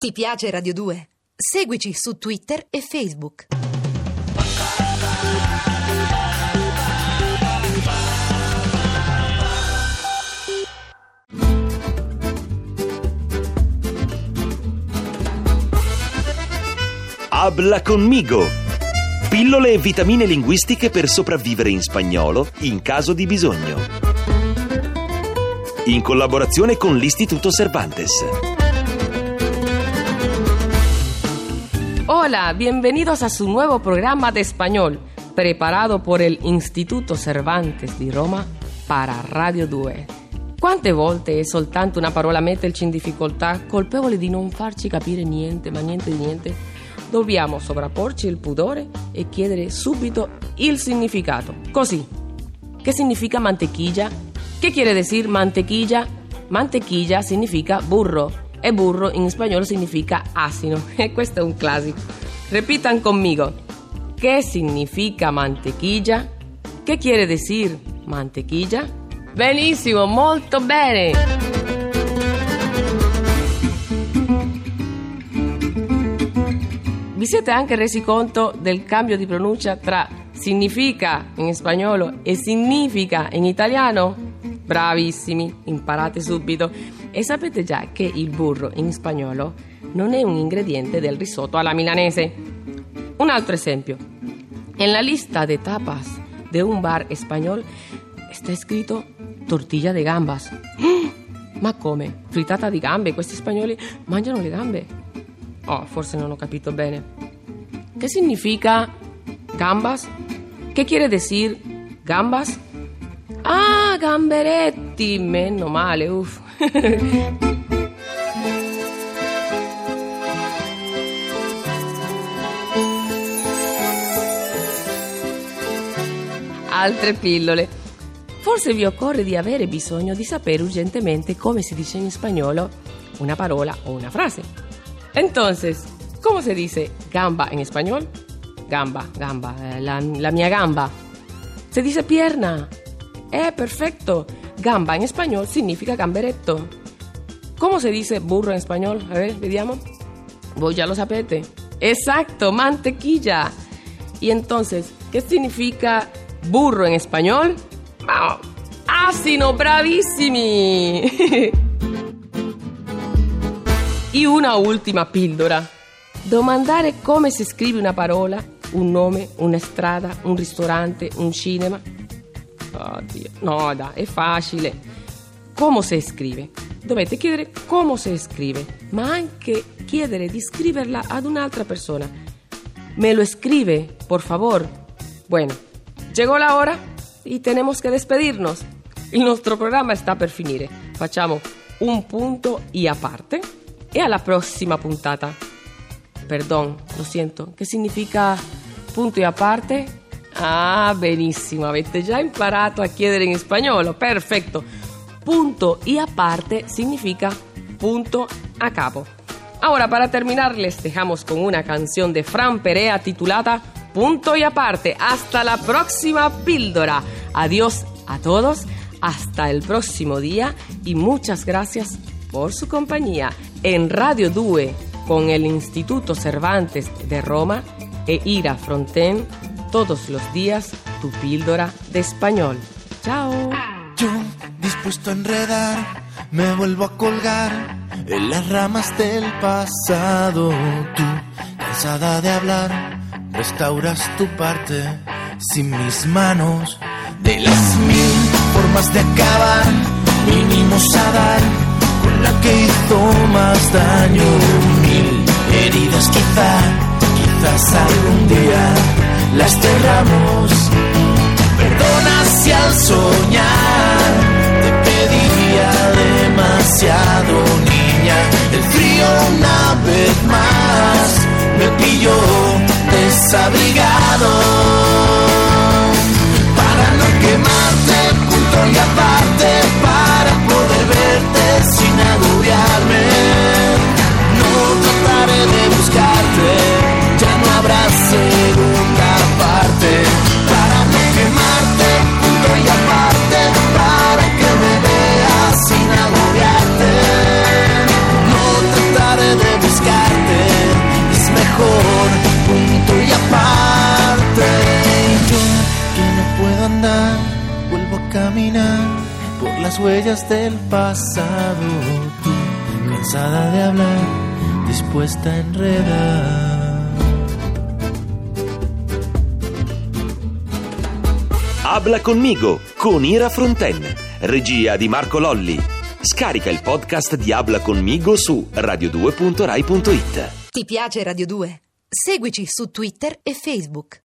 Ti piace Radio 2? Seguici su Twitter e Facebook. Habla conmigo! Pillole e vitamine linguistiche per sopravvivere in spagnolo in caso di bisogno. In collaborazione con l'Istituto Cervantes. Hola, bienvenidos a su nuevo programa de español, preparado por el Instituto Cervantes di Roma para Radio 2. Quante volte è soltanto una parola a metterci in difficoltà, colpevole di non farci capire niente, ma niente di niente? Dobbiamo sovrapporci il pudore e chiedere subito il significato. Così. ¿Qué significa mantequilla? ¿Qué quiere decir mantequilla? Mantequilla significa burro. E burro in spagnolo significa asino. E questo è un classico. Repitan conmigo. ¿Qué significa mantequilla? ¿Qué quiere decir mantequilla? Benissimo, molto bene. Vi siete anche resi conto del cambio di pronuncia tra significa in spagnolo e significa in italiano? Bravissimi, imparate subito. E sapete già che il burro in spagnolo non è un ingrediente del risotto alla milanese. Un altro esempio. En la lista de tapas de un bar español está escrito tortilla de gambas. Ma come? Frittata di gambe? Questi spagnoli mangiano le gambe? Oh, forse non ho capito bene. ¿Qué significa gambas? ¿Qué quiere decir gambas? Ah, gamberetti, meno male, uff. Altre pillole. Forse vi occorre di avere bisogno di sapere urgentemente come si dice in spagnolo una parola o una frase. Entonces, ¿cómo se dice gamba en español? Gamba, la mia gamba. Se dice pierna. Perfecto. Gamba en español significa gamberetto. ¿Cómo se dice burro en español? A ver, vediamo. Voi ya lo sapete. Exacto, mantequilla. Y entonces, ¿qué significa burro en español? Oh, asino, bravissimi. E una ultima pillola. Domandare come si scrive una parola, un nome, una strada, un ristorante, un cinema. Oddio, no, dai, è facile. Come si scrive? Dovete chiedere come si scrive, ma anche chiedere di scriverla ad un'altra persona. ¿Me lo escribe, por favor? Bueno, llegó la hora y tenemos que despedirnos. Il nostro programma sta per finire. Facciamo un punto y aparte e alla prossima puntata. Perdón, lo siento. Che significa punto y aparte? Ah, benissimo, avete già imparato a chiedere in spagnolo, perfetto. Punto y aparte significa punto a capo. Ahora, para terminar, les dejamos con una canción de Fran Perea titulada Punto y aparte. Hasta la próxima píldora. Adiós a todos, hasta el próximo día y muchas gracias por su compañía en Radio 2 con el Instituto Cervantes de Roma e Ira Fronten. Todos los días, tu píldora de español. Chao. Yo, dispuesto a enredar, me vuelvo a colgar en las ramas del pasado. Tú, cansada de hablar, restauras tu parte sin mis manos. De las 1000 formas de acabar, vinimos a dar con la que hizo más daño. 1000 heridas quizás algún día las cerramos. Perdona si al soñar te pedía demasiado, niña. El frío una vez más me pilló desabrigado. Para no quemarte, punto y aparte, para poder verte sin agobiarme. No trataré de buscarte, ya no habrá segunda parte. Para no quemarte, punto y aparte, para que me veas sin agobiarte. No trataré de buscarte. las huellas del pasado. Tú, cansada de hablar, dispuesta a enredar. Habla conmigo con Ira Fronten, regia di Marco Lolli. Scarica il podcast di Habla conmigo su radio2.rai.it. Ti piace Radio 2? Seguici su Twitter e Facebook.